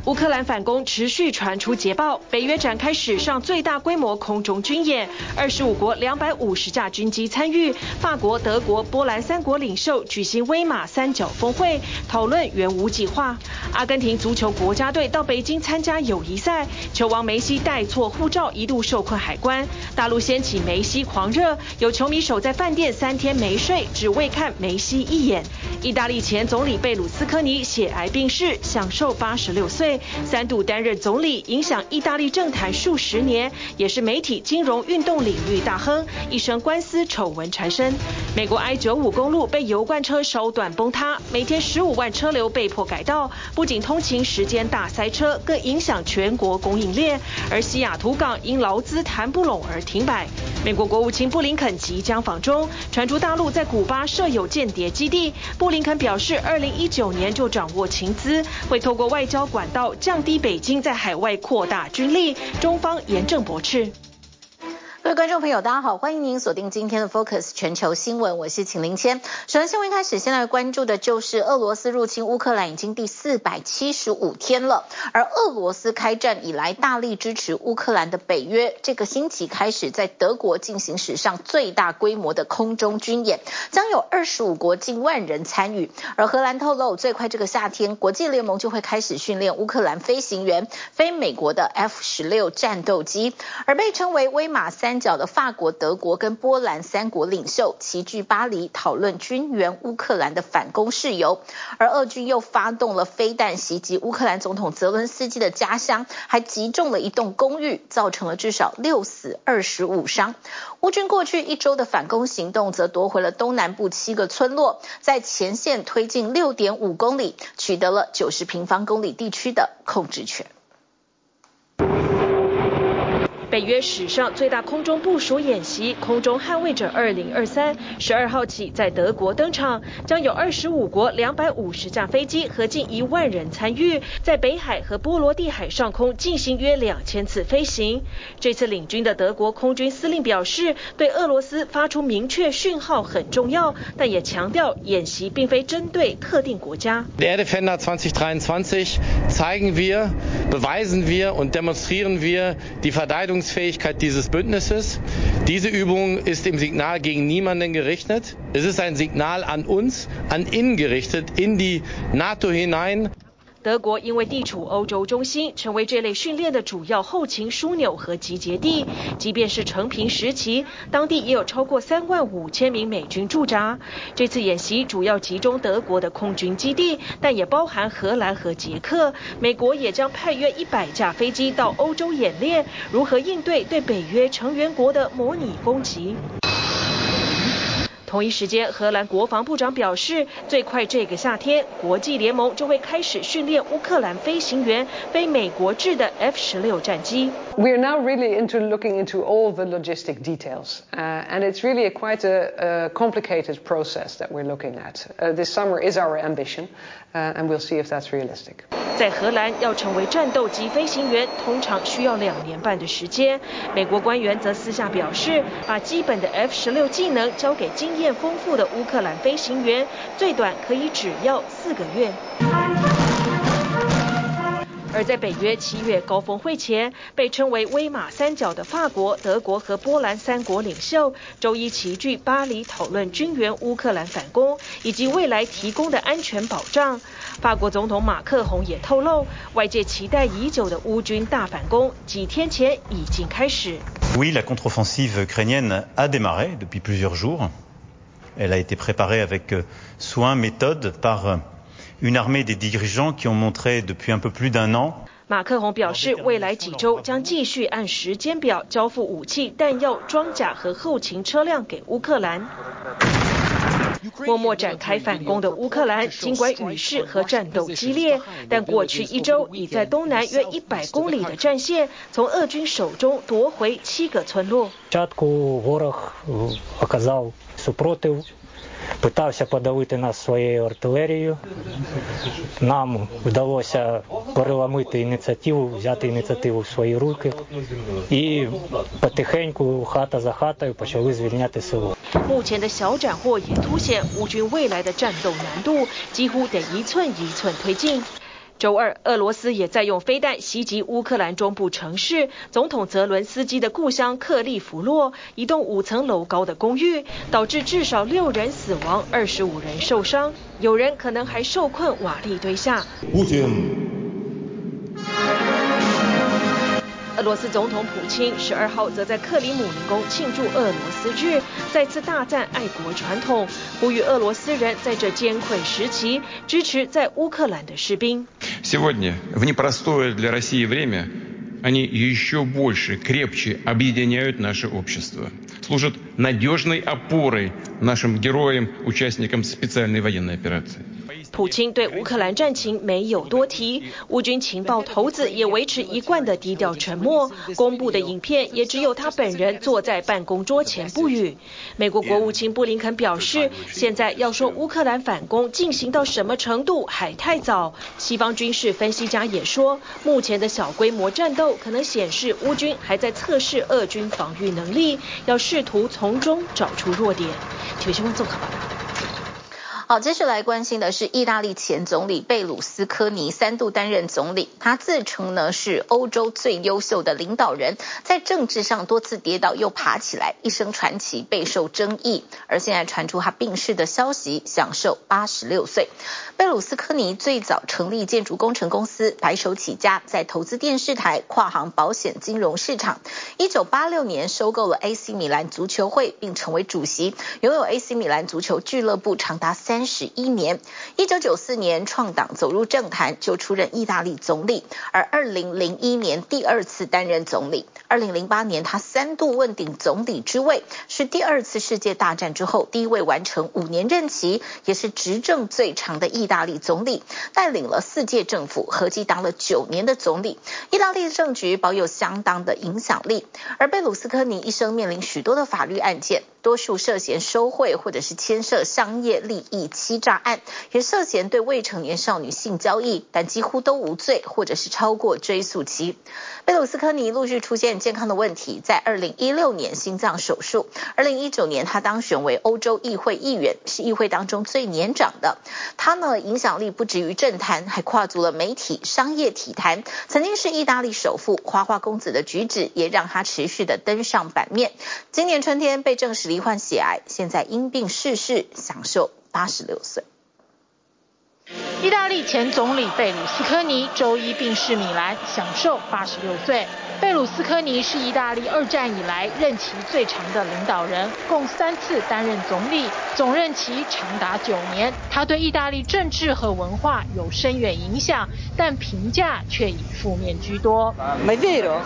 烏克蘭反攻持續傳出捷報，北約展開史上最大規模空中軍演，25國250架軍機參與，法國、德國、波蘭3國領袖舉行威馬三角峰會，討論援烏計劃。阿根廷足球國家隊到北京參加友誼賽，球王梅西帶錯護照一度受困海關。大陸掀起梅西狂熱，有球迷守在飯店3天沒睡，只為看梅西一眼。意大利前總理貝魯斯科尼血癌病逝，享壽86歲，3度擔任總理，影響意大利政壇數十年，也是媒體、金融、運動領域大亨，一生官司醜聞纏身。美國 I-95公路被油罐車燒斷崩塌，每天15萬車流被迫改道，不僅通勤時間大塞車，更影響全國供應鏈。而西雅圖港因勞資談不攏而停擺。美國國務卿布林肯即將訪中，傳出大陸在古巴設有間諜基地。布林肯表示，2019年就掌握情資，會透過外交管道降低北京在海外擴大軍力。中方嚴正駁斥。各位觀眾朋友，大家好，歡迎您鎖定今天的 Focus 全球新聞，我是秦林謙。首先新聞一開始，現在關注的就是俄羅斯入侵烏克蘭已經第475天了，而俄羅斯開戰以來大力支持烏克蘭的北約，這個星期開始在德國進行史上最大規模的空中軍演，將有25國近萬人參與。而荷蘭透露，最快這個夏天，國際聯盟就會開始訓練烏克蘭飛行員飛美國的 F-16戰鬥機，而被稱為威馬三角的法國、德國跟波蘭3國領袖齊聚巴黎，討論軍援烏克蘭的反攻事由。而俄軍又發動了飛彈襲擊烏克蘭總統澤倫斯基的家鄉，還擊中了一棟公寓，造成了至少6死25傷。烏軍過去1周的反攻行動則奪回了東南部7個村落，在前線推進6.5公里，取得了90平方公里地區的控制權。北約史上最大空中部署演習“空中捍衛者2023”， 12號起在德國登場，將有25國250架飛機和近1萬人參與，在北海和波羅的海上空進行約2000次飛行。這次領軍的德國空軍司令表示，對俄羅斯發出明確訊號很重要，但也強調演習並非針對特定國家。 Air Defender 2023 zeigen wir, beweisen wir und demonstrieren wir die Verteidigungsfähigkeit dieses Bündnisses. Diese Übung ist im Signal gegen niemanden gerichtet. Es ist ein Signal an uns, an innen gerichtet, in die NATO hinein. 德國因為地處歐洲中心，成為這類訓練的主要後勤樞紐和集結地。即便是承平時期，當地也有超過35000名美軍駐紮。這次演習主要集中德國的空軍基地，但也包含荷蘭和捷克。美國也將派約100架飛機到歐洲演練，如何應對對北約成員國的模擬攻擊。同一時間，荷蘭國防部長表示，最快這個夏天，國際聯盟就會開始訓練烏克蘭飛行員飛美國制的 F-16戰機。 We are now really looking into all the logistic details, and it's really quite a complicated process that we're looking at. This summer is our ambition, and we'll see if that's realistic. 在荷蘭，要成為戰鬥機飛行員，通常需要2年半的時間。美國官員則私下表示，把基本的 F-16技能交給經驗豐富的烏克蘭飛行員，最短可以只要4個月。而在北約7月高峰會前，被稱為威馬三角的法國、德國和波蘭3國領袖周一齊聚巴黎，討論軍援烏克蘭反攻以及未來提供的安全保障。法國總統馬克宏也透露，外界期待已久的烏軍大反攻幾天前已經開始。 Oui, la contre-offensive ukrainienne a démarré depuis plusieurs jours. Elle a été préparée avec soin, méthode par une armée des dirigeants qui ont montré depuis un peu plus d'1 an. 馬克宏表示，未來幾週將繼續按時間表交付武器、彈藥、裝甲和後勤車輛給烏克蘭。默默展開反攻的烏克蘭，儘管雨勢和戰鬥激烈，但過去1週已在東南約100公里的戰線，從俄軍手中奪回7個村落。 Питався подавити нас своєю артилерією. Нам вдалося переламити ініціативу, взяти ініціативу в свої руки. І потихеньку, хата за хатою, почали звільняти село. 目前的小斬獲也凸顯烏軍未來的戰鬥難度，幾乎得一寸一寸推進。 週二，俄羅斯也在用飛彈襲擊烏克蘭中部城市，總統澤倫斯基的故鄉克利夫洛，一棟5層樓高的公寓，導致至少6人死亡，25人受傷，有人可能還受困瓦礫堆下。俄羅斯總統普京12號則在克里姆林宮慶祝俄羅斯日，再次大讚愛國傳統，呼籲俄羅斯人在這艱困時期支持在烏克蘭的士兵。 Сегодня в непростое для России время они еще больше, крепче объединяют наше общество, служат надежной опорой нашим героям, участникам специальной военной операции. 普京對烏克蘭戰情沒有多提，烏軍情報頭子也維持一貫的低調沉默，公布的影片也只有他本人坐在辦公桌前不語。美國國務卿布林肯表示，現在要說烏克蘭反攻進行到什麼程度還太早。西方軍事分析家也說，目前的小規模戰鬥可能顯示烏軍還在測試俄軍防禦能力，要試圖從中找出弱點。體育新聞綜合報道。 好，接下來關心的是意大利前總理貝魯斯科尼3度擔任總理，他自稱呢是歐洲最優秀的領導人，在政治上多次跌倒又爬起來，一生傳奇備受爭議。而現在傳出他病逝的消息，享壽86歲。貝魯斯科尼最早成立建築工程公司，白手起家，在投資電視台、跨行保險、金融市場。1986年收購了 AC 米蘭足球會，並成為主席，擁有 AC 米蘭足球俱樂部長達31年。1994年創黨走入政壇，就出任意大利總理，而2001年第2次擔任總理。2008年他3度問鼎總理之位，是第2次世界大戰之後第一位完成5年任期，也是執政最長的意大利總理，帶領了4屆政府，合計當了9年的總理。意大利的政局保有相當的影響力。而貝魯斯科尼一生面臨許多的法律案件，多數涉嫌收賄或者是牽涉商業利益欺詐案，也涉嫌對未成年少女性交易，但幾乎都無罪或者是超過追訴期。貝魯斯科尼陸續出現健康的問題，在2016年心臟手術，2019年他當選為歐洲議會議員，是議會當中最年長的。他呢影響力不止於政壇，還跨足了媒體、商業體壇，曾經是意大利首富，花花公子的舉止也讓他持續的登上版面。今年春天被證實罹患血癌，現在因病逝世，享壽86歲。 意大利前總理貝魯斯科尼週一病逝米蘭，享壽86歲。貝魯斯科尼是意大利2戰以來任期最長的領導人，共3次擔任總理，總任期長達9年。他對意大利政治和文化有深遠影響，但評價卻以負面居多。 Ma è vero?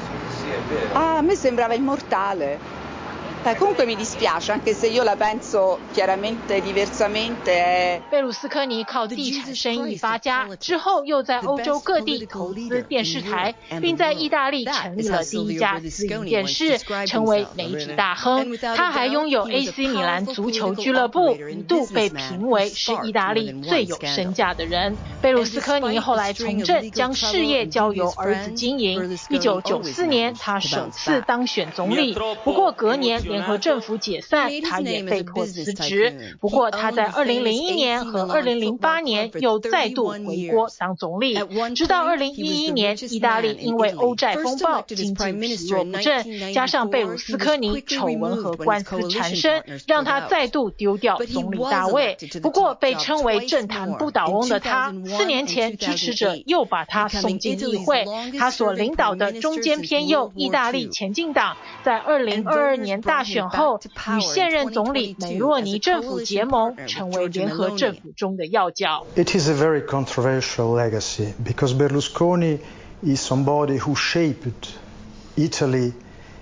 Ah, a me sembrava immortale. Comunque mi dispiace, anche se io la penso chiaramente diversamente. 貝魯斯科尼靠地產生意發家，之後又在歐洲各地投資電視台，並在意大利成立了第一家私營電視，成為媒體大亨。他還擁有 AC 米蘭足球俱樂部，一度被評為是意大利最有身價的人。貝魯斯科尼後來從政，將事業交由兒子經營。1994年，他首次當選總理，不過隔年聯合政府解散，他也被迫辭職。不過他在2001年和2008年又再度回國當總理，直到2011年，意大利因為歐債風暴，經濟疲弱不振，加上貝魯斯科尼醜聞和官司纏身，讓他再度丟掉總理大位。不過被稱為政壇不倒翁的他，4年前支持者又把他送進議會。他所領導的中間偏右意大利前進黨，在2022年大選後，與現任總理梅洛尼政府結盟，成為聯合政府中的要角。 It is a very controversial legacy because Berlusconi is somebody who shaped Italy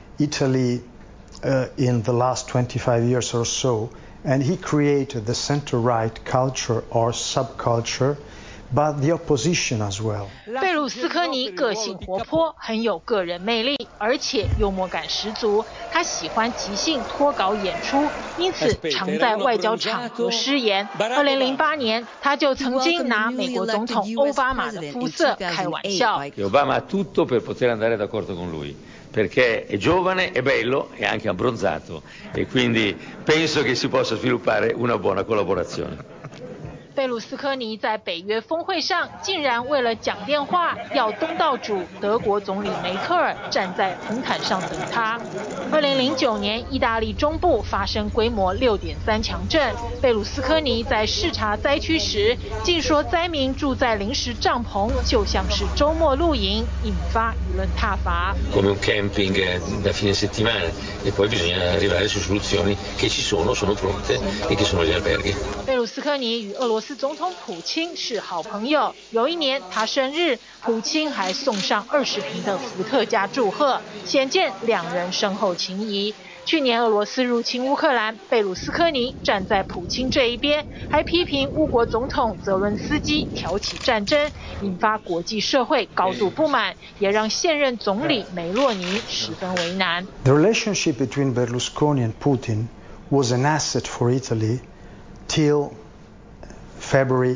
in the last 25 years or so, and he created the center-right culture or subculture.But the opposition as well. 貝魯斯科尼個性活潑，很有個人魅力，而且幽默感十足。他喜歡即興脫稿演出，因此常在外交場合失言。2008年，他就曾經拿美國總統奧巴馬的膚色開玩笑。 Obama ha tutto per poter andare d'accordo con lui, perché è giovane, è bello e anche abbronzato, e quindi penso che si possa sviluppare una buona collaborazione. 貝魯斯科尼在北約峰會上竟然為了講電話要東道主德國總理梅克爾站在紅毯上等他。2009年，意大利中部發生規模6.3強震，貝魯斯科尼在視察災區時，竟說災民住在臨時帳篷就像是週末露營，引發輿論撻伐。 Come un camping da fine settimana e poi bisogna arrivare su soluzioni che ci sono pronte e che sono gli alberghi。 貝魯斯科尼與俄羅斯總統普京是好朋友，有一年他生日，普京還送上20瓶的伏特加祝賀，顯見兩人深厚情誼。去年俄羅斯入侵烏克蘭，貝魯斯科尼站在普京這一邊，還批評烏國總統澤倫斯基挑起戰爭，引發國際社會高度不滿，也讓現任總理梅洛尼十分為難。 The relationship between Berlusconi and Putin was an asset for Italy till February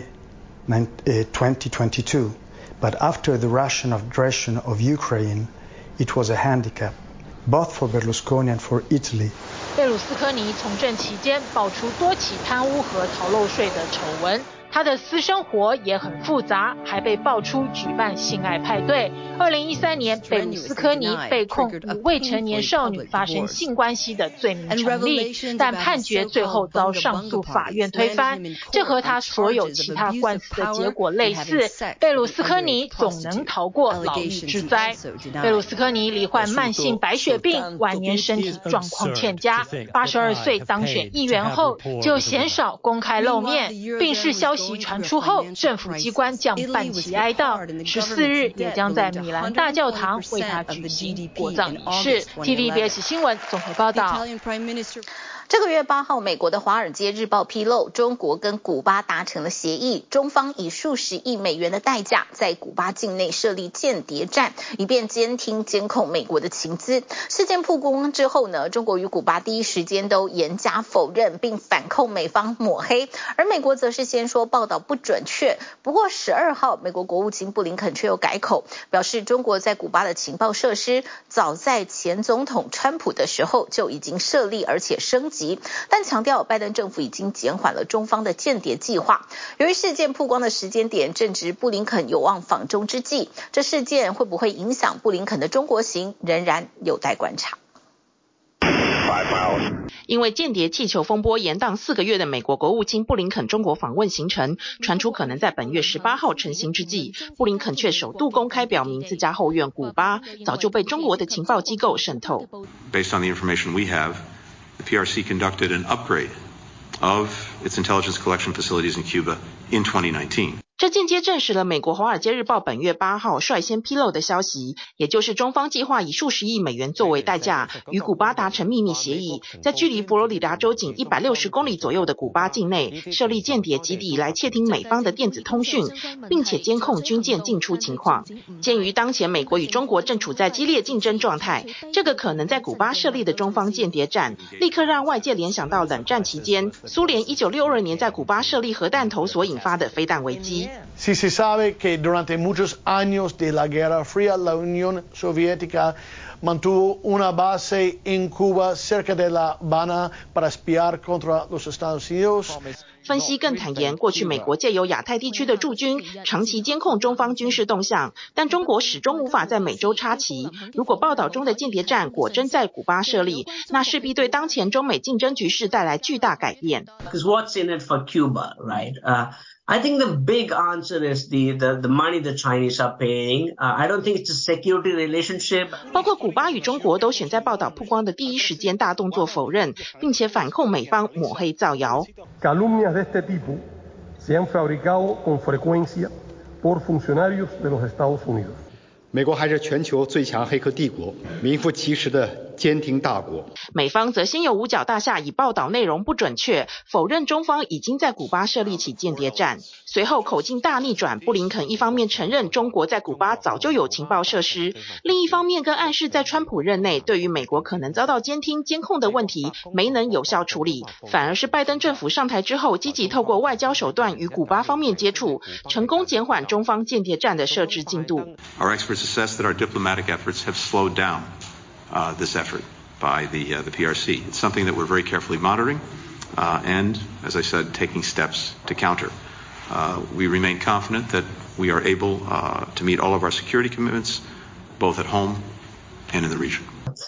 2022, but after the Russian aggression of Ukraine, it was a handicap, both for Berlusconi and for Italy. 貝魯斯科尼從政期間爆出多起貪污和逃漏稅的醜聞，他的私生活也很複雜，還被爆出舉辦性愛派對。2013年，貝魯斯科尼被控與未成年少女發生性關係的罪名成立，但判決最後遭上訴法院推翻。這和他所有其他官司的結果類似，貝魯斯科尼總能逃過牢獄之災。貝魯斯科尼罹患慢性白血病，晚年身體狀況欠佳，82歲當選議員後就鮮少公開露面，病逝消息傳出後，政府機關將辦期哀悼，14日也將在米蘭大教堂為他舉行國葬儀式。TVBS 新聞綜合報道。 這個月8號，美國的《華爾街日報》披露，中國跟古巴達成了協議，中方以數十億美元的代價，在古巴境內設立間諜站，以便監聽監控美國的情資。事件曝光之後呢，中國與古巴第一時間都嚴加否認，並反控美方抹黑，而美國則是先說報道不準確。不過12號，美國國務卿布林肯卻又改口，表示中國在古巴的情報設施，早在前總統川普的時候就已經設立，而且升級。但強調拜登政府已經減緩了中方的間諜計劃。由於事件曝光的時間點正值布林肯有望訪中之際，這事件會不會影響布林肯的中國行，仍然有待觀察。 因為間諜氣球風波延宕4個月的美國國務卿布林肯中國訪問行程傳出可能在本月18號成行之際，布林肯卻首度公開表明自家後院古巴早就被中國的情報機構滲透。 Based on the information we have, the PRC conducted an upgrade of its intelligence collection facilities in Cuba in 2019. 這間接證實了美國《華爾街日報》本月8號率先披露的消息，也就是中方計劃以數十億美元作為代價，與古巴達成秘密協議，在距離佛羅里達州僅160公里左右的古巴境內設立間諜基地來竊聽美方的電子通訊，並且監控軍艦進出情況。鑑於當前美國與中國正處在激烈競爭狀態，這個可能在古巴設立的中方間諜站，立刻讓外界聯想到冷戰期間蘇聯1962年在古巴設立核彈頭所引發的飛彈危機。 Si se sabe que durante muchos años de la Guerra Fría, la Unión Soviética mantuvo una base en Cuba cerca de La Habana para espiar contra los Estados Unidos. 分析更坦言，過去美國借由亞太地區的駐軍長期監控中方軍事動向，但中國始終無法在美洲插旗。如果報道中的間諜站果真在古巴設立，那勢必對當前中美競爭局勢帶來巨大改變。 Because what's in it for Cuba, right? I think the big answer is the money the Chinese are paying. I don't think it's a security relationship. 包括古巴與中國都選在報道曝光的第一時間大動作否認，並且反控美方抹黑造謠。 Calumnias de este tipo se han fabricado con frecuencia por funcionarios de los Estados Unidos. 美國還是全球最強黑客帝國，名副其實的監聽大國。 美方則先有五角大廈以報道內容不準確，否認中方已經在古巴設立起間諜站。隨後口徑大逆轉，布林肯一方面承認中國在古巴早就有情報設施，另一方面更暗示在川普任內對於美國可能遭到監聽監控的問題沒能有效處理，反而是拜登政府上台之後積極透過外交手段與古巴方面接觸，成功減緩中方間諜站的設置進度。 Assess that our diplomatic efforts have slowed down this effort by the PRC. It's something that we're very carefully monitoring and, as I said, taking steps to counter. We remain confident that we are able to meet all of our security commitments, both at home and in the region.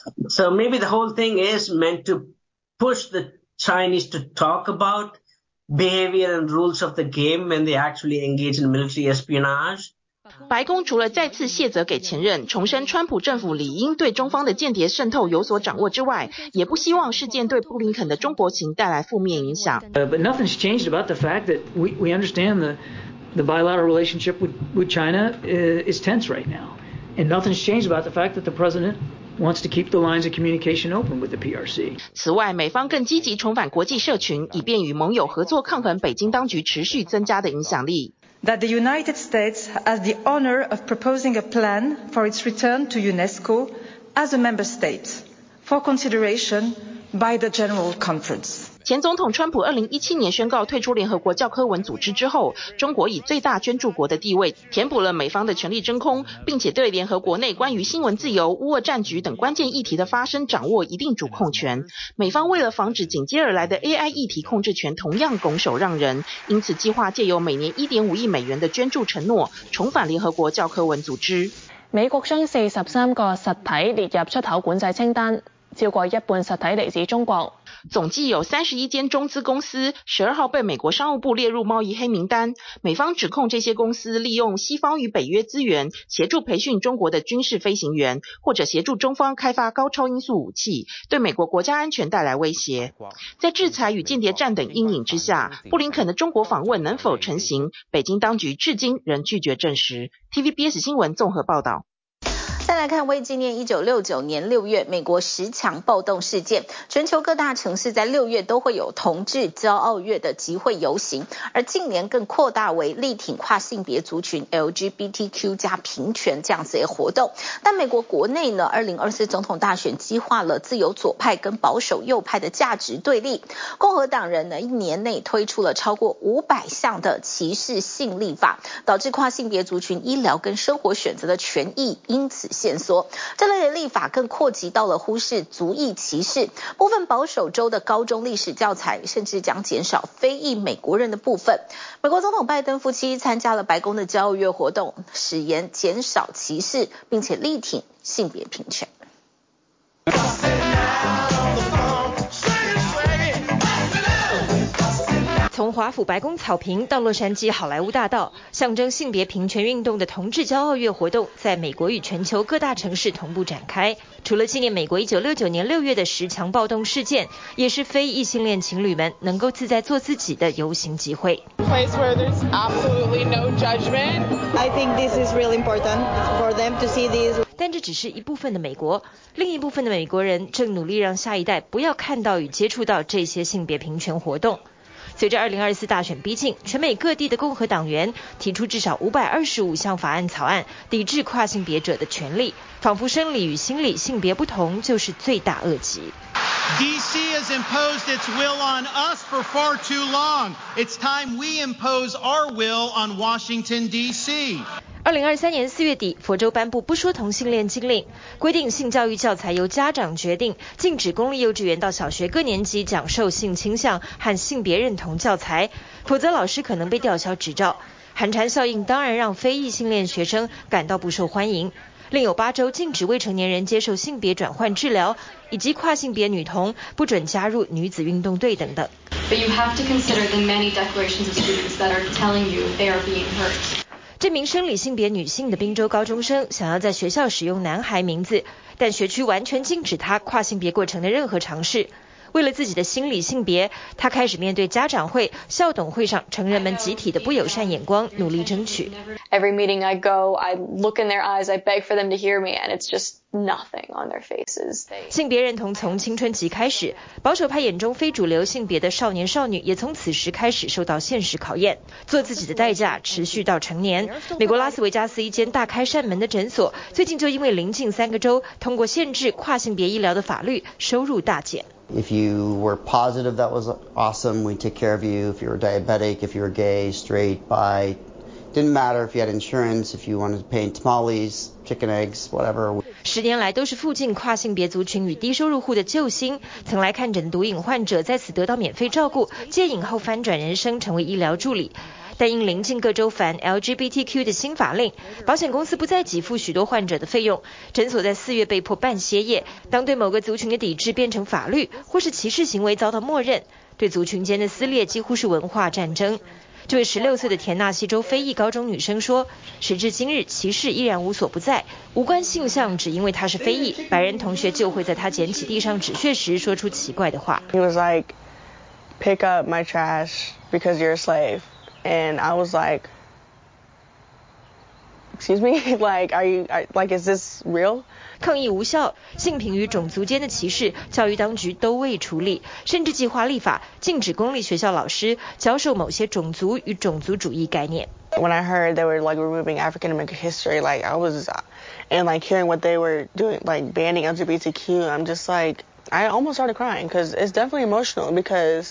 So maybe the whole thing is meant to push the Chinese to talk about behavior and rules of the game when they actually engage in military espionage. 白宮除了再次卸責給前任，重申川普政府理應對中方的間諜滲透有所掌握之外，也不希望事件對布林肯的中國情帶來負面影響。 But nothing's changed about the fact that we understand the bilateral relationship with China is tense right now, and nothing's changed about the fact that the president wants to keep the lines of communication open with the PRC. 此外，美方更積極重返國際社群，以便與盟友合作抗衡北京當局持續增加的影響力。 That the United States has the honor of proposing a plan for its return to UNESCO as a member state for consideration by the General Conference. 前总統川普2017年宣告退出聯合國教科文組織之後，中國以最大捐助國的地位填補了美方的權力真空，並且對聯合國內關於新聞自由、烏俄戰局等關鍵議題的發聲掌握一定主控權。美方為了防止緊接而來的 AI 議題控制權同樣拱手讓人，因此計劃借由每年1.5億美元的捐助承諾，重返聯合國教科文組織。 美國將43個實體列入出口管制清單，超過一半實體嚟自中國。 總計有31間中資公司12號被美國商務部列入貿易黑名單，美方指控這些公司利用西方與北約資源，協助培訓中國的軍事飛行員，或者協助中方開發高超音速武器，對美國國家安全帶來威脅。在制裁與間諜戰等陰影之下，布林肯的中國訪問能否成行，北京當局至今仍拒絕證實。TVBS 新聞綜合報道。 再來看為紀念1969年6月美國10強暴動事件，全球各大城市在6月都會有同志驕傲月的集會遊行，而近年更擴大為力挺跨性別族群 LGBTQ 加平權這樣子的活動。但美國國內呢，2024總統大選激化了自由左派跟保守右派的價值對立，共和黨人呢1年內推出了超過500項的歧視性立法，導致跨性別族群醫療跟生活選擇的權益因此限縮。這類的立法更擴及到了忽視族裔歧視，部分保守州的高中歷史教材甚至將減少非裔美國人的部分。美國總統拜登夫妻參加了白宮的驕傲月活動，誓言減少歧視，並且力挺性別平權。 從華府白宮草坪到洛杉磯好萊塢大道，象徵性別平權運動的同志驕傲月活動在美國與全球各大城市同步展開。除了紀念美國1969年6月的10強暴動事件，也是非異性戀情侶們能夠自在做自己的遊行集會。 Place where there's absolutely no judgment. I think this is really important for them to see this. 但這只是一部分的美國，另一部分的美國人正努力讓下一代不要看到與接觸到這些性別平權活動。隨着2024大選逼近，全美各地的共和黨員提出至少525項法案草案，抵制跨性別者的權利，仿佛生理與心理性別不同就是罪大惡極。 DC has imposed its will on us for far too long. It's time we impose our will on Washington, D.C. 2023年4月底，佛州頒布不說同性戀禁令，規定性教育教材由家長決定，禁止公立幼稚園到小學各年級講授性傾向和性別認同教材，否則老師可能被吊銷執照。寒蟬效應當然讓非異性戀學生感到不受歡迎。另有8州禁止未成年人接受性別轉換治療，以及跨性別女童不准加入女子運動隊等等。 But you have to consider the many declarations of students that are telling you they are being hurt. 這名生理性別女性的賓州高中生想要在學校使用男孩名字，但學區完全禁止她跨性別過程的任何嘗試。為了自己的心理性別，她開始面對家長會、校董會上成人們集體的不友善眼光，努力爭取。 Every meeting I go, I look in their eyes, I beg for them to hear me, and it's just nothing on their faces. 性別認同從青春期開始，保守派眼中非主流性別的少年少女也從此時開始受到現實考驗，做自己的代價持續到成年。美國拉斯維加斯一間大開扇門的診所，最近就因為鄰近3個州通過限制跨性別醫療的法律，收入大減。 If you were positive, that was awesome. We'd take care of you. If you were diabetic, if you were gay, straight, bi, didn't matter if you had insurance, if you wanted to paint tamales, chicken eggs, whatever. 10年來都是附近跨性別族群與低收入戶的救星。曾來看診的毒癮患者在此得到免費照顧，戒癮後翻轉人生，成為醫療助理。 但因臨近各州反 LGBTQ 的新法令，保險公司不再給付許多患者的費用，診所在4月被迫半歇業。當對某個族群的抵制變成法律，或是歧視行為遭到默認，對族群間的撕裂幾乎是文化戰爭。這位16歲的田納西州非裔高中女生說，時至今日歧視依然無所不在，無關性向只因為她是非裔，白人同學就會在她撿起地上紙屑時說出奇怪的話。 He was like, pick up my trash because you're a slave. And I was like, excuse me? Like, is this real? 抗議無效，性平與種族間的歧視，教育當局都未處理，甚至計劃立法禁止公立學校老師教授某些種族與種族主義概念。 When I heard they were like removing African American history, like I was, and like hearing what they were doing, like banning LGBTQ, I'm just like, I almost started crying because it's definitely emotional because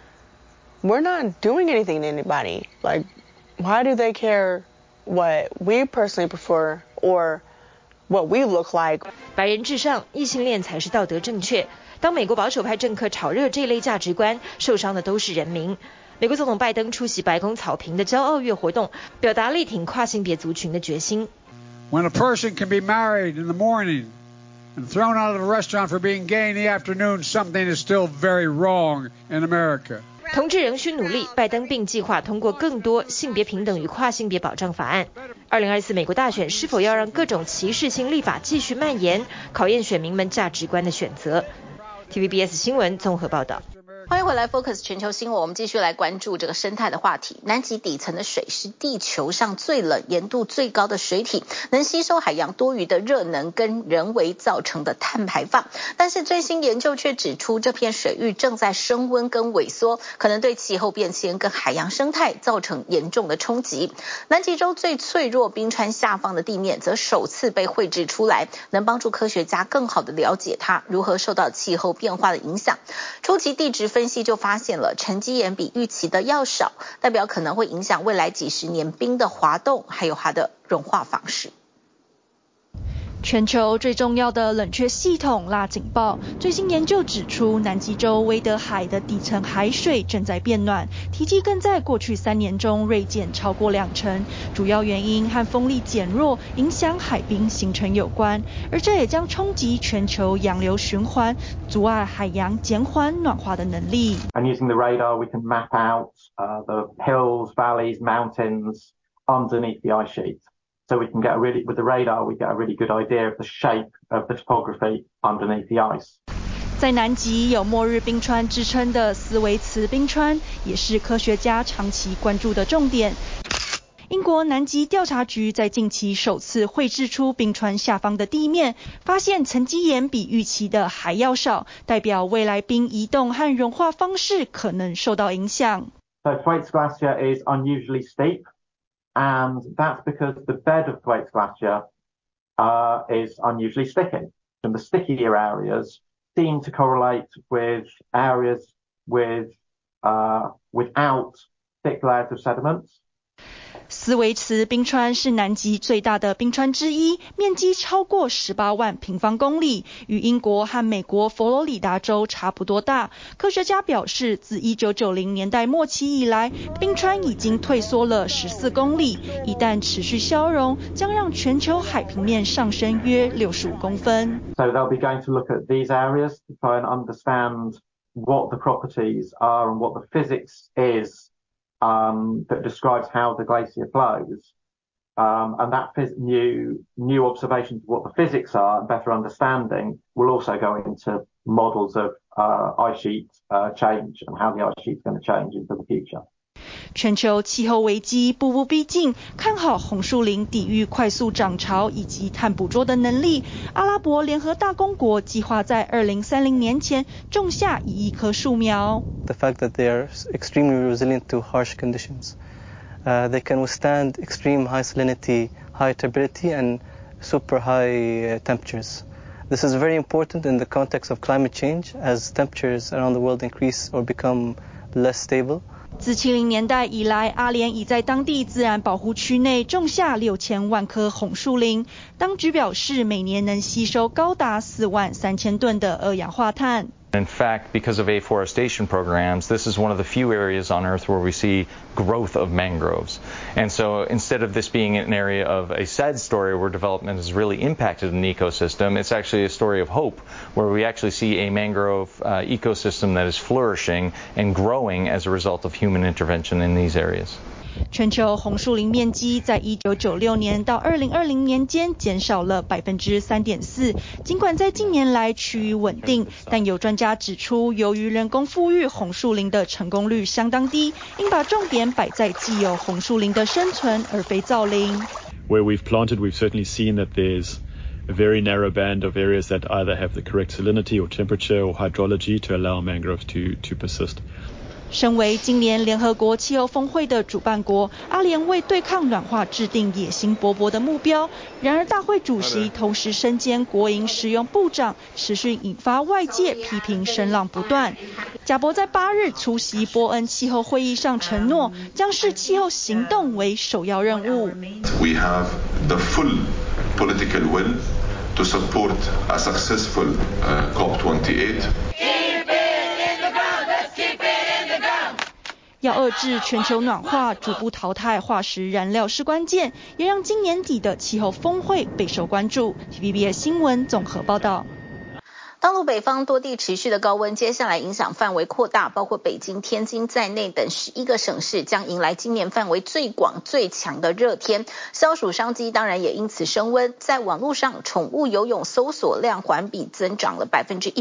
we're not doing anything to anybody. Like, why do they care what we personally prefer or what we look like? 白人至上，異性戀才是道德正確。當美國保守派政客炒熱這類價值觀，受傷的都是人民。美國總統拜登出席白宮草坪的驕傲月活動，表達力挺跨性別族群的決心。 When a person can be married in the morning and thrown out of a restaurant for being gay in the afternoon, something is still very wrong in America. 同志仍需努力，拜登並計劃通過更多性別平等與跨性別保障法案。2024美國大選是否要讓各種歧視性立法繼續蔓延，考驗選民們價值觀的選擇。TVBS 新聞綜合報道。 歡迎回來 Focus 全球新聞，我們繼續來關注這個生態的話題。南極底層的水是地球上最冷、鹽度最高的水體，能吸收海洋多餘的熱能跟人為造成的碳排放。但是最新研究卻指出，這片水域正在升溫跟萎縮，可能對氣候變遷跟海洋生態造成嚴重的衝擊。南極洲最脆弱冰川下方的地面則首次被繪製出來，能幫助科學家更好地了解它如何受到氣候變化的影響。初期地質分析就發現了沉積岩比預期的要少，代表可能會影響未來幾十年冰的滑動，還有它的融化方式。 全球最重要的冷卻系統拉警報，最新研究指出，南極洲威德海的底層海水正在變暖，體積更在過去3年中銳減超過20%，主要原因和風力減弱影響海冰形成有關，而這也將衝擊全球洋流循環，阻礙海洋減緩暖化的能力。 And using the radar, we can map out the hills, valleys, mountains underneath the ice sheet. So we can get with the radar, we get a really good idea of the shape of the topography underneath the ice. 在南極有末日冰川之稱的斯維茨冰川，也是科學家長期關注的重點。英國南極調查局在近期首次繪製出冰川下方的地面，發現沉積岩比預期的還要少，代表未來冰移動和融化方式可能受到影響。 So Thwaites Glacier is unusually steep. And that's because the bed of Thwaites Glacier is unusually sticky. And the stickier areas seem to correlate with areas with without thick layers of sediments. 斯維茨冰川是南極最大的冰川之一，面積超過18萬平方公里，與英國和美國佛羅里達州差不多大。科學家表示，自1990年代末期以來，冰川已經退縮了14公里，一旦持續消融，將讓全球海平面上升約65公分。 So they'll be going to look at these areas to try and understand what the properties are and what the physics is. That describes how the glacier flows, and that new observations of what the physics are and better understanding will also go into models of ice sheet change and how the ice sheet is going to change into the future. 全球氣候危機步步逼近，看好紅樹林抵禦快速漲潮以及碳捕捉的能力。阿拉伯聯合大公國計劃在2030年前種下1億棵樹苗。 The fact that they are extremely resilient to harsh conditions, they can withstand extreme high salinity, high turbidity, and super high temperatures. This is very important in the context of climate change, as temperatures around the world increase or become less stable. 自70年代以來，阿聯已在當地自然保護區內種下6000萬棵紅樹林。當局表示，每年能吸收高達43000噸的二氧化碳。 In fact, because of afforestation programs, this is one of the few areas on Earth where we see growth of mangroves. And so instead of this being an area of a sad story where development has really impacted an ecosystem, it's actually a story of hope, where we actually see a mangrove ecosystem that is flourishing and growing as a result of human intervention in these areas. 全球红树林面積在1996年到2020年間減少了 3.4%， 儘管在近年來趨於穩定，但有專家指出，由於人工復育紅樹林的成功率相當低，應把重點擺在既有紅樹林的生存，而非造林。 Where we've planted, we've certainly seen that there's a very narrow band of areas that either have the correct salinity or temperature or hydrology to allow mangroves to persist. 身為今年聯合國氣候峰會的主辦國，阿聯為對抗暖化制定野心勃勃的目標。然而，大會主席同時身兼國營實用部長，持續引發外界批評聲浪不斷。賈伯在8日出席波恩氣候會議上承諾，將視氣候行動為首要任務。 We have the full political will to support a successful COP28. 要遏制全球暖化，逐步淘汰化石燃料是關鍵，也讓今年底的氣候峰會備受關注。TVBS 新聞綜合報道。 大陸北方多地持續的高溫，接下來影響範圍擴大，包括北京、天津在內等11個省市將迎來今年範圍最廣、最強的熱天。消暑商機當然也因此升溫。在網絡上，寵物游泳搜索量環比增長了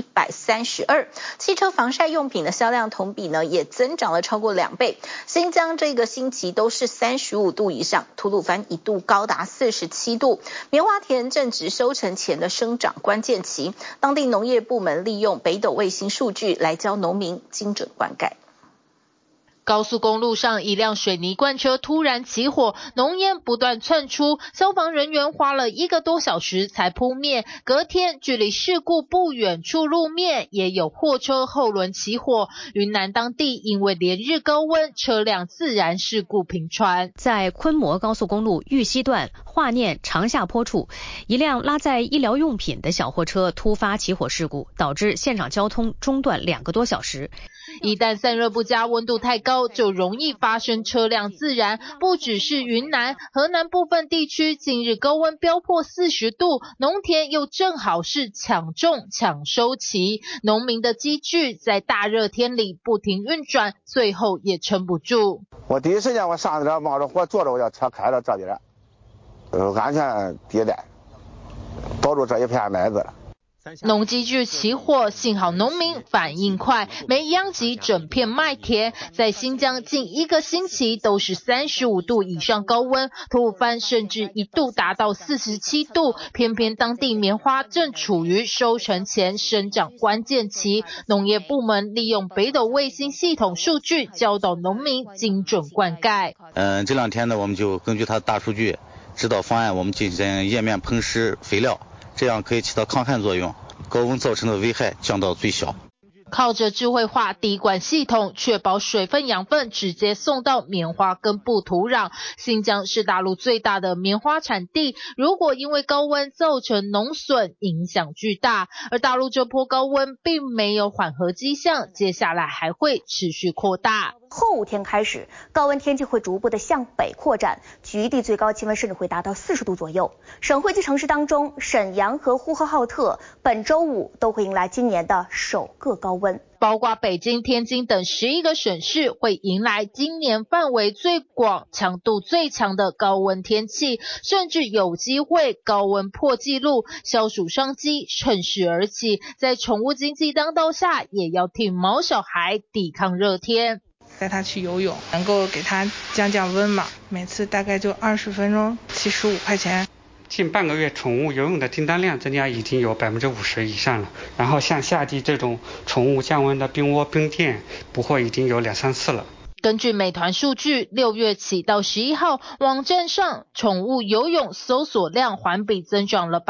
132%， 汽車防曬用品的銷量同比呢也增長了超過2倍。新疆這個星期都是35度以上，吐魯番一度高達47度。棉花田正值收成前的生長關鍵期，當地農業部門利用北斗衛星數據來教農民精準灌溉。 高速公路上，一輛水泥罐車突然起火，濃煙不斷竄出，消防人員花了1個多小時才撲滅。隔天，距離事故不遠處路面也有貨車後輪起火。雲南當地因為連日高溫，車輛自燃事故頻傳。 在昆摩高速公路玉溪段華念長下坡處，一輛拉載醫療用品的小貨車突發起火事故，導致現場交通中斷2個多小時。 一旦散熱不佳，溫度太高，就容易發生車輛自燃。不只是雲南，河南部分地區近日高溫飆破40度，農田又正好是搶種搶收期，農民的機具在大熱天裡不停運轉，最後也撐不住。 我第一時間我上車冒着火坐着，我叫車開到這裡來，安全地帶，保住這一片麥子了。 農機具起火，幸好農民反應快，沒殃及整片麥田。在新疆近1個星期都是35度以上高溫，吐魯番甚至一度達到47度。偏偏當地棉花正處於收成前生長關鍵期，農業部門利用北斗衛星系統數據教導農民精準灌溉。 這兩天呢，我們就根據它的大數據指導方案，我們進行葉面噴施肥料，這樣可以起到抗旱作用，高溫造成的危害降到最小。 靠着智慧化滴灌系統，確保水分養分直接送到棉花根部土壤。新疆是大陸最大的棉花產地，如果因為高溫造成農損，影響巨大。而大陸這波高溫並沒有緩和跡象，接下來還會持續擴大。 後5天開始，高溫天氣會逐步的向北擴展，局地最高氣溫甚至會達到40度左右。省會級城市當中，瀋陽和呼和浩特本週5都會迎來今年的首個高溫。 包括北京、天津等11個省市會迎來今年範圍最廣、強度最強的高溫天氣，甚至有機會高溫破紀錄。消暑商機趁勢而起，在寵物經濟當道下，也要替毛小孩抵抗熱天。 帶他去游泳，能夠給他降降溫嘛，每次大概就20分鐘，75塊錢。 近半個月寵物游泳的訂單量增加已經有50%以上了。然後像夏季這種寵物降溫的冰窩、冰店，補貨已經有2-3次了。 根據美團數據，6月起到11號，網站上寵物游泳搜索量環比增長了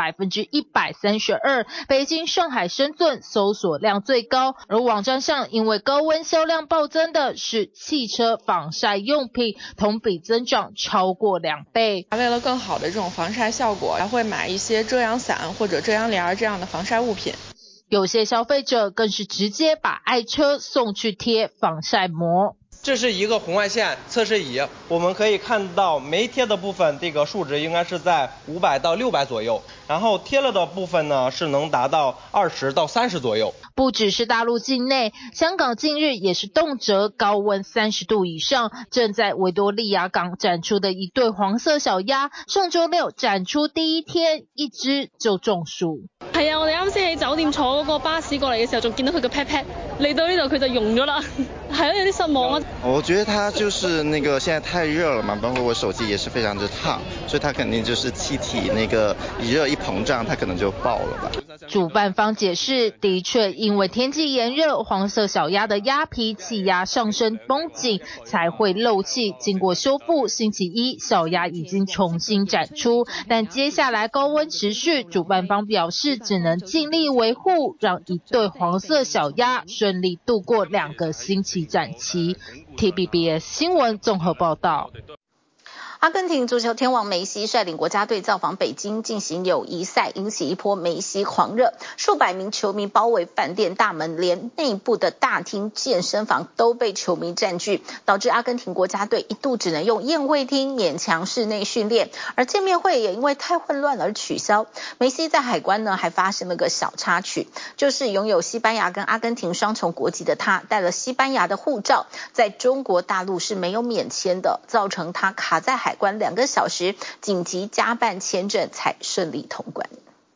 132%。北京、上海、深圳搜索量最高，而網站上因為高溫銷量暴增的是汽車防曬用品，同比增長超過2倍。 為了更好的這種防曬效果，還會買一些遮陽傘或者遮陽簾這樣的防曬物品。 有些消費者更是直接把愛車送去貼防曬膜。 這是一個紅外線測試儀，我們可以看到沒貼的部分，這個數值應該是在500到600左右，然後貼了的部分呢是能達到20到30左右。 不只是大陸境內，香港近日也是動輒高溫30度以上。正在維多利亞港展出的一對黃色小鴨，上週六展出第一天，一隻就中暑。 係啊，我哋啱先喺酒店坐嗰個巴士過嚟嘅時候，仲見到佢個 pat pat，嚟到呢度佢就溶咗啦，係啊，有啲失望啊。 我覺得它就是那個現在太熱了嘛，包括我手機也是非常之燙，所以它肯定就是氣體那個一熱一膨脹，它可能就爆了吧。 主辦方解釋，的確因為天氣炎熱，黃色小鴨的鴨皮氣壓上升繃緊，才會漏氣。經過修復，星期一小鴨已經重新展出，但接下來高溫持續，主辦方表示只能盡力維護，讓一對黃色小鴨順利度過2個星期展期。TVBS 新聞綜合報道。 阿根廷足球天王梅西率領國家隊造訪北京進行友誼賽，引起一波梅西狂熱，數百名球迷包圍飯店大門，連內部的大廳、健身房都被球迷佔據，導致阿根廷國家隊一度只能用宴會廳勉強室內訓練，而見面會也因為太混亂而取消。梅西在海關呢還發生了個小插曲，就是擁有西班牙跟阿根廷雙重國籍的他帶了西班牙的護照，在中國大陸是沒有免簽的，造成他卡在海關2個小時，緊急加辦簽證才順利通關。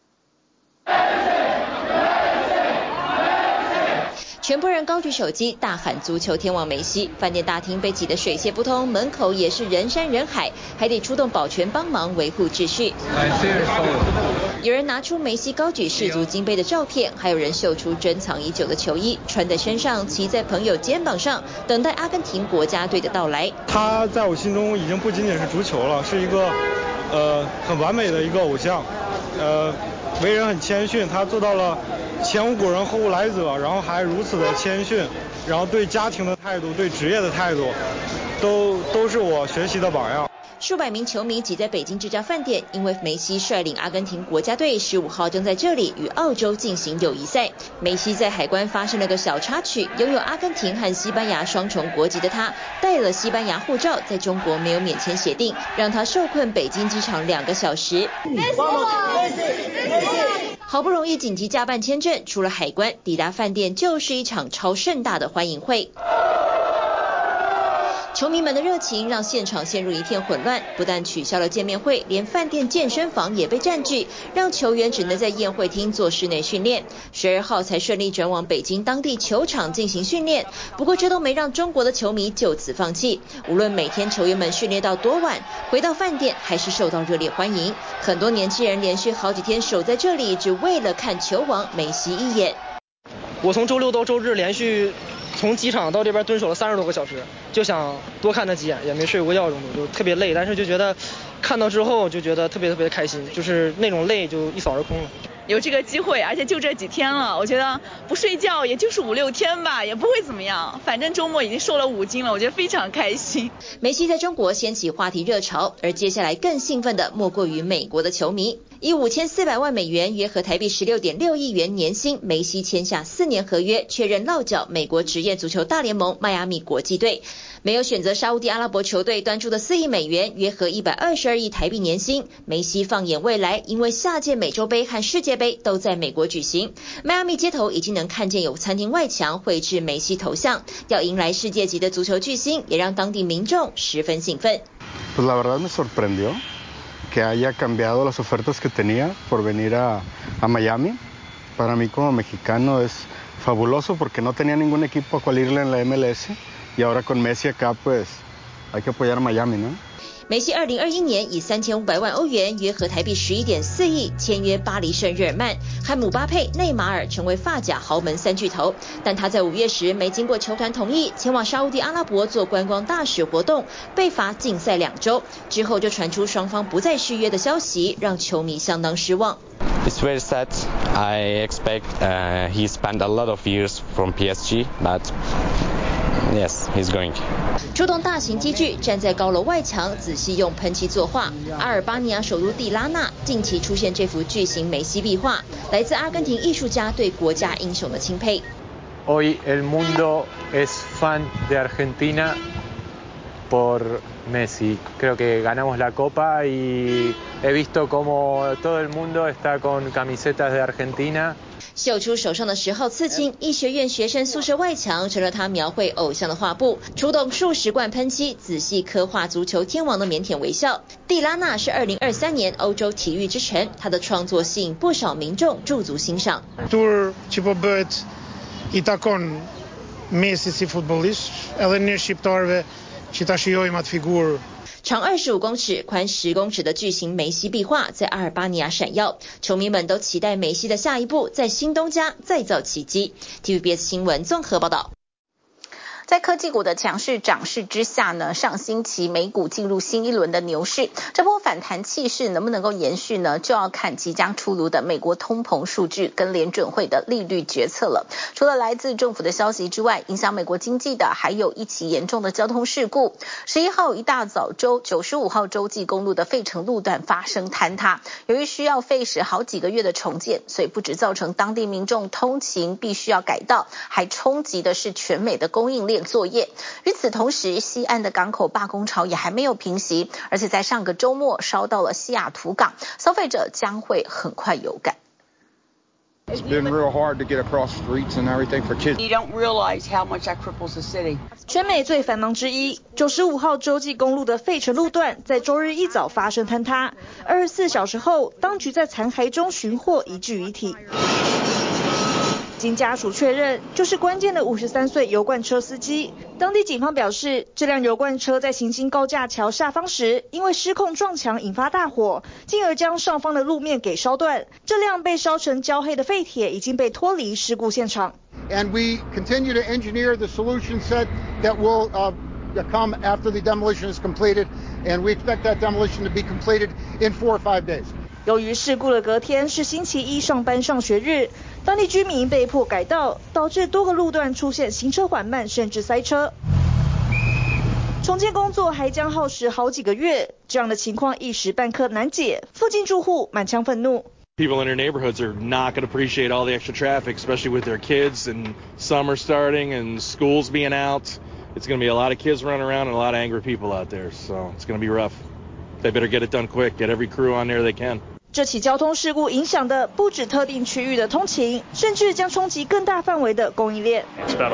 全部人高舉手機大喊足球天王梅西，飯店大廳被擠得水泄不通，門口也是人山人海，還得出動保全幫忙維護秩序。有人拿出梅西高舉世足金杯的照片，還有人秀出珍藏已久的球衣，穿在身上，騎在朋友肩膀上，等待阿根廷國家隊的到來。 他在我心中已經不僅僅是足球了，是一個很完美的一個偶像，為人很謙遜，他做到了前無古人後無來者，然後還如此的謙遜，然後對家庭的態度，對職業的態度，都是我學習的榜樣。 數百名球迷擠在北京這家飯店，因為梅西率領阿根廷國家隊15號正在這裡與澳洲進行友誼賽。梅西在海關發生了個小插曲，擁有阿根廷和西班牙雙重國籍的他帶了西班牙護照，在中國沒有免簽協定，讓他受困北京機場2個小時。好不容易緊急加辦簽證，除了海關，抵達飯店就是一場超盛大的歡迎會。球迷們的熱情讓現場陷入一片混亂，不但取消了見面會，連飯店健身房也被佔據，讓球員只能在宴會廳做室內訓練。12號才順利轉往北京當地球場進行訓練。不過這都沒讓中國的球迷就此放棄，無論每天球員們訓練到多晚，回到飯店還是受到熱烈歡迎。很多年輕人連續好幾天守在這裡，只為了看球王梅西一眼。 我從週六到週日連續從機場到這邊蹲守了30多個小時，就想多看他幾眼，也沒睡過覺，就特別累，但是就覺得看到之後就覺得特別開心，就是那種累就一掃而空了。 有這個機會，而且就這幾天了，我覺得不睡覺也就是5、6天吧，也不會怎麼樣，反正週末已經瘦了5斤了，我覺得非常開心。 梅西在中國掀起話題熱潮，而接下來更興奮的莫過於美國的球迷。以5400萬美元，約合台幣16.6億元年薪，梅西簽下4年合約，確認落腳美國職業足球大聯盟邁阿密國際隊。沒有選擇沙烏地阿拉伯球隊端出的4億美元，約合122億台幣年薪。梅西放眼未來，因為下屆美洲盃和世界盃都在美國舉行，邁阿密街頭已經能看見有餐廳外牆繪製梅西頭像，要迎來世界級的足球巨星，也讓當地民眾十分興奮。 Pues la verdad me sorprendió que haya cambiado las ofertas que tenía por venir a Miami. Para mí como mexicano es fabuloso porque no tenía ningún equipo a cual irle en la MLS y ahora con Messi acá pues hay que apoyar a Miami, ¿no? 梅西2021年以3500萬歐元，約合台幣11.4億簽約巴黎聖日耳曼，和姆巴佩、內馬爾成為法甲豪門3巨頭。但他在5月時沒經過球團同意，前往沙烏地阿拉伯做觀光大使活動，被罰禁賽2週。之後就傳出雙方不再續約的消息，讓球迷相當失望。 It's very sad. I expect he spent a lot of years from PSG, but Yes, he's going to. 出动大型机具，站在高楼外墙，仔細用噴漆作畫。阿爾巴尼亞首都蒂拉納近期出現這幅巨型梅西壁畫，來自阿根廷藝術家對國家英雄的欽佩。 Hoy el mundo es fan de Argentina por Messi. Creo que ganamos la Copa y he visto cómo todo el mundo está con camisetas de Argentina. 秀出手上的10號刺青，醫學院學生宿舍外牆成了他描繪偶像的畫布，出動數十罐噴漆，仔細刻畫足球天王的靦腆微笑。蒂拉納是2023年歐洲體育之城，他的創作吸引不少民眾駐足欣賞。 Tur që po bëhet I takon Messi si futbollist, edhe ne shqiptarëve që ta shijojmë atë figurë。 長25公尺、寬10公尺的巨型梅西壁畫在阿爾巴尼亞閃耀，球迷們都期待梅西的下一步在新東家再造奇蹟。TVBS 新聞綜合報道。 在科技股的強勢漲勢之下呢，上星期美股進入新一輪的牛市，這波反彈氣勢能不能夠延續呢？就要看即將出爐的美國通膨數據跟聯準會的利率決策了。除了來自政府的消息之外，影響美國經濟的還有一起嚴重的交通事故。11號一大早95號洲際公路的費城路段發生坍塌，由於需要費時好幾個月的重建，所以不只造成當地民眾通勤必須要改道，還衝擊的是全美的供應鏈作業。與此同時，西岸的港口罷工潮也還沒有平息，而且在上個週末燒到了西雅圖港，消費者將會很快有感。 It's been real hard to get across streets and everything for kids. You don't realize how much that cripples the city. 全美最繁忙之一，95號洲際公路的費城路段在週日一早發生坍塌，24小時後，當局在殘骸中尋獲一具遺體。經家屬確認，就是關鍵的53歲油罐車司機。當地警方表示，這輛油罐車在行經高架橋下方時，因為失控撞牆引發大火，進而將上方的路面給燒斷。這輛被燒成焦黑的廢鐵已經被脫離事故現場。 And we continue to engineer the solution set that will come after the demolition is completed, and we expect that demolition to be completed in 4 or 5 days. 由於事故的隔天是星期一上班上學日，當地居民被迫改道，導致多個路段出現行車緩慢甚至塞車。重建工作還將耗時好幾個月，這樣的情況一時半刻難解，附近住戶滿腔憤怒。 People in their neighborhoods are not going to appreciate all the extra traffic, especially with their kids and summer starting and schools being out. It's going to be a lot of kids running around and a lot of angry people out there, so it's going to be rough. They better get it done quick, get every crew on there they can. 這起交通事故影響的不止特定區域的通勤，甚至將衝擊更大範圍的供應鏈。 It's about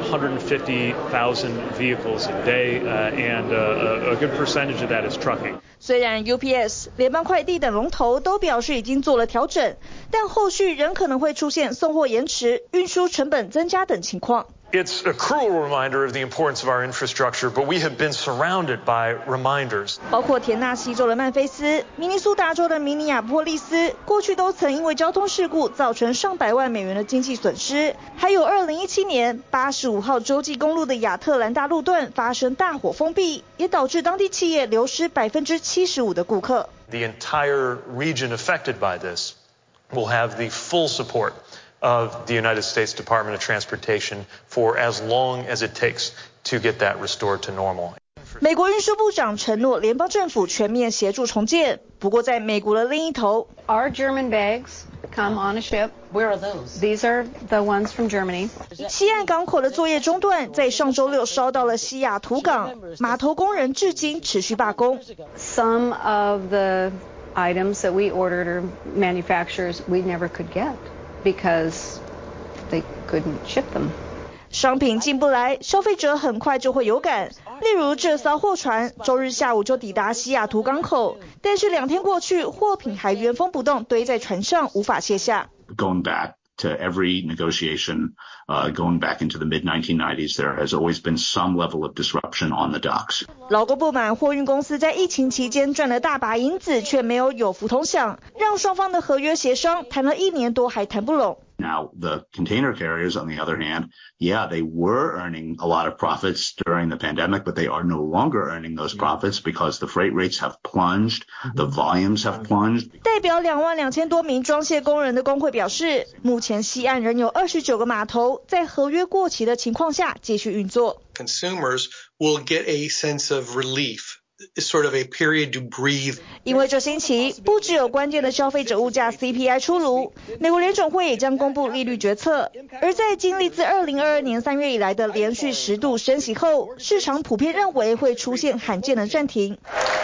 150,000 vehicles a day, and a good percentage of that is trucking. 雖然 UPS、聯邦快遞等龍頭都表示已經做了調整，但後續仍可能會出現送貨延遲、運輸成本增加等情況。 It's a cruel reminder of the importance of our infrastructure, but we have been surrounded by reminders. 包括田納西州的曼菲斯、明尼蘇達州的明尼亞波利斯，過去都曾因為交通事故造成上百萬美元的經濟損失。還有2017年85號洲際公路的亞特蘭大路段發生大火封閉，也導致當地企業流失75%的顧客。 The entire region affected by this will have the full support of the United States Department of Transportation for as long as it takes to get that restored to normal. 美國運輸部長承諾聯邦政府全面協助重建，不過在美國的另一頭 Our German bags come on a ship. Where are those? These are the ones from Germany. 西岸港口的作業中斷，在上週六燒到了西雅圖港，碼頭工人至今持續罷工。 Some of the items that we ordered or manufacturers we never could get.Because they couldn't ship them. 商品進不來，消費者很快就會有感。例如這艘貨船週日下午就抵達西雅圖港口，但是2天過去，貨品還原封不動堆在船上，無法卸下。 Going back to every negotiation, going back into the mid-1990s, there has always been some level of disruption on the docks. 勞工不滿貨運公司在疫情期間賺了大把銀子，卻沒有有福同享，讓雙方的合約協商談了1年多還談不攏。 Now, the container carriers, on the other hand, yeah, they were earning a lot of profits during the pandemic, but they are no longer earning those profits because the freight rates have plunged, the volumes have plunged. 代表22000多名装卸工人的工會表示，目前西岸仍有29個碼頭在合約過期的情況下繼續運作。 Consumers will get a sense of relief.Sort of a period to breathe. 因為這星期不只有關鍵的消費者物價 CPI 出爐，美國聯準會也將公布利率決策。而在經歷自2022年3月以來的連續10度升息後，市場普遍認為會出現罕見的暫停。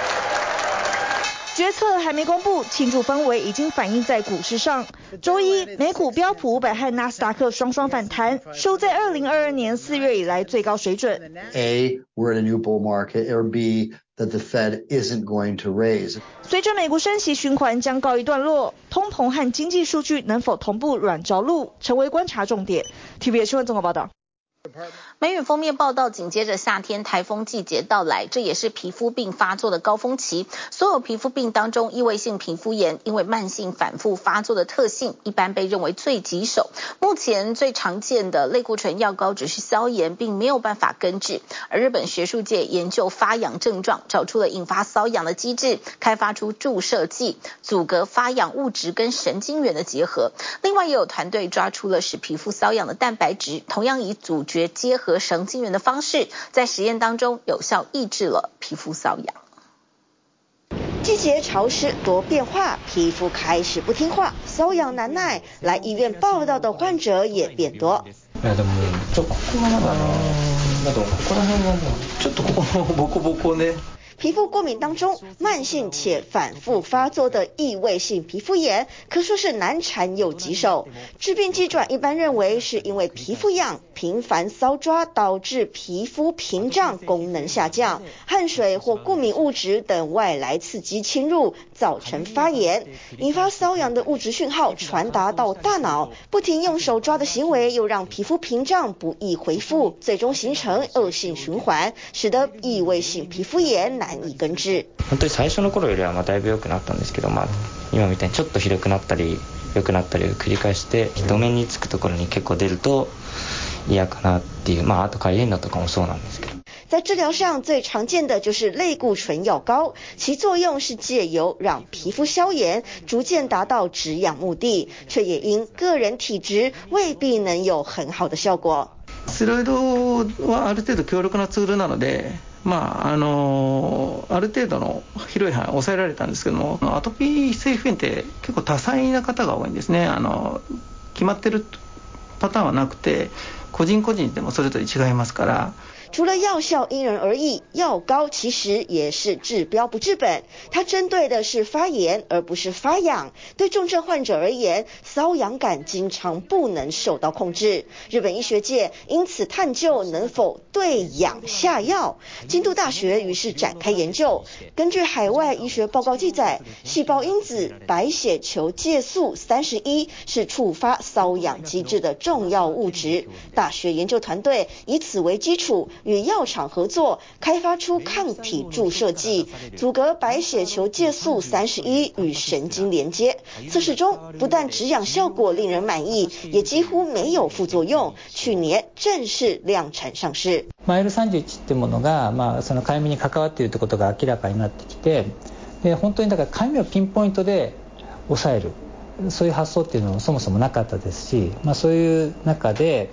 決策還沒公布，慶祝氛圍已經反映在股市上。周一，美股標普500和納斯達克雙雙反彈，收在2022年4月以來最高水準。 A, we're in a new bull market, or B,that the Fed isn't going to raise. 隨着美國升息循環將告一段落，通膨和經濟數據能否同步軟着陸，成為觀察重點。TVBS 新聞綜合報道。 美語封面報道，緊接着夏天台風季節到來，這也是皮膚病發作的高峰期。所有皮膚病當中，異位性皮膚炎因為慢性反覆發作的特性，一般被認為最棘手。目前最常見的類固醇藥膏只是消炎，並沒有辦法根治。而日本學術界研究發癢症狀，找出了引發瘙癢的機制，開發出注射劑，阻隔發癢物質跟神經元的結合。另外也有團隊抓出了使皮膚瘙癢的蛋白質，同樣以阻絕結合神經元的方式，在實驗當中有效抑制了皮膚瘙癢。 季節潮濕多變化，皮膚開始不聽話，瘙癢難耐，來醫院報到的患者也變多。 いやでもここがまだね、ここら辺がもうちょっとここのボコボコね。 皮膚過敏當中，慢性且反覆發作的異位性皮膚炎可說是難纏又棘手。致病機轉一般認為是因為皮膚癢、頻繁搔抓導致皮膚屏障功能下降，汗水或過敏物質等外來刺激侵入，造成發炎，引發瘙癢的物質訊號傳達到大腦，不停用手抓的行為又讓皮膚屏障不易恢復，最終形成惡性循環，使得異位性皮膚炎難以根治。 本当に最初の頃よりはだいぶ良くなったんですけど、今みたいにちょっとひどくなったり良くなったりを繰り返して、路面につくところに結構出ると嫌かなっていう、あとかゆいのとかもそうなんですけど。 在治療上最常見的就是類固醇藥膏，其作用是借由讓皮膚消炎，逐漸達到止癢目的，卻也因個人體質未必能有很好的效果。 ステロイドはある程度強力なツールなので、ある程度の広い範囲を抑えられたんですけども、アトピー性皮膚炎って結構多彩な方が多いんですね。決まってるパターンはなくて、個人個人でもそれぞれ違いますから。 除了藥效因人而異，藥膏其實也是治標不治本。它針對的是發炎，而不是發癢。對重症患者而言，瘙癢感經常不能受到控制。日本醫學界因此探究能否對癢下藥。京都大學於是展開研究。根據海外醫學報告記載，細胞因子白血球介素31是觸發瘙癢機制的重要物質。大學研究團隊以此為基礎，與藥廠合作，開發出抗體注射劑，阻隔白血球介素31與神經連接。測試中不但止癢效果令人滿意，也幾乎沒有副作用。去年正式量產上市。 L31ってものが、そのかゆみに関わっているということが明らかになってきて、で本当にだからかゆみをピンポイントで抑える、そういう発想っていうのもそもそもなかったですし、そういう中で、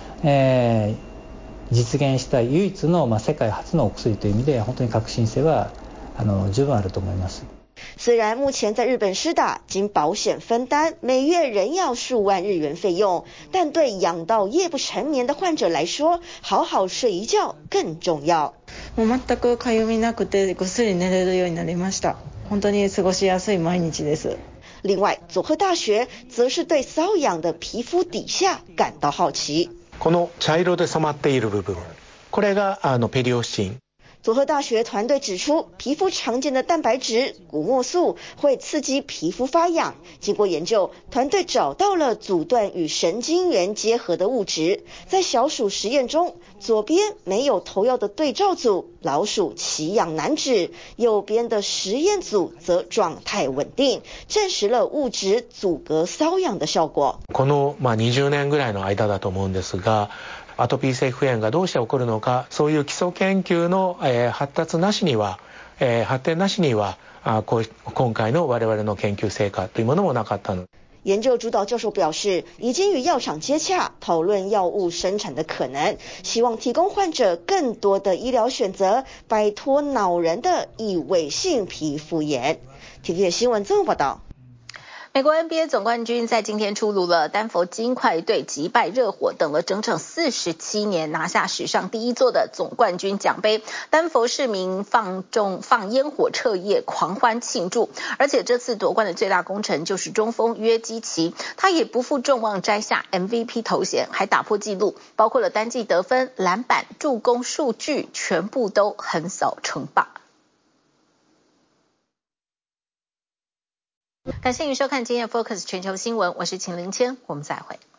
実現した唯一の世界初のお薬という意味で本当に革新性は十分あると思います。 雖然目前在日本施打，經保險分擔，每月仍要數萬日元費用，但對癢到夜不成眠的患者來說，好好睡一覺更重要。 もう全くかゆみなくてぐっすり寝れるようになりました。本当に過ごしやすい毎日です。 另外，佐賀大學則是對瘙癢的皮膚底下感到好奇。 この茶色で染まっている部分、これがペリオスチン。 佐賀大學團隊指出，皮膚常見的蛋白質谷墨素會刺激皮膚發癢。經過研究，團隊找到了阻斷與神經元結合的物質。在小鼠實驗中，左邊沒有投藥的對照組，老鼠奇癢難止；右邊的實驗組則狀態穩定，證實了物質阻隔瘙癢的效果。 この20年ぐらいの間だと思うんですが。アトピー性皮膚炎がどうして起こるのか、そういう基礎研究の発展なしには今回の我々の研究成果というものもなかったの。 研究主導教授表示，已經與藥廠接洽，討論藥物生產的可能，希望提供患者更多的醫療選擇，擺脫惱人的異位性皮膚炎。TVBS 新聞綜合報道。 美國 NBA 總冠軍在今天出爐了，丹佛金塊隊擊敗熱火，等了整整47年，拿下史上第一座的總冠軍獎盃。丹佛市民放煙火徹夜，狂歡慶祝。而且這次奪冠的最大功臣就是中鋒約基奇，他也不負眾望摘下 MVP 頭銜，還打破紀錄，包括了單季得分、籃板、助攻數據，全部都橫掃稱霸。感謝您收看今天的 Focus 全球新聞，我是秦林謙，我們再會。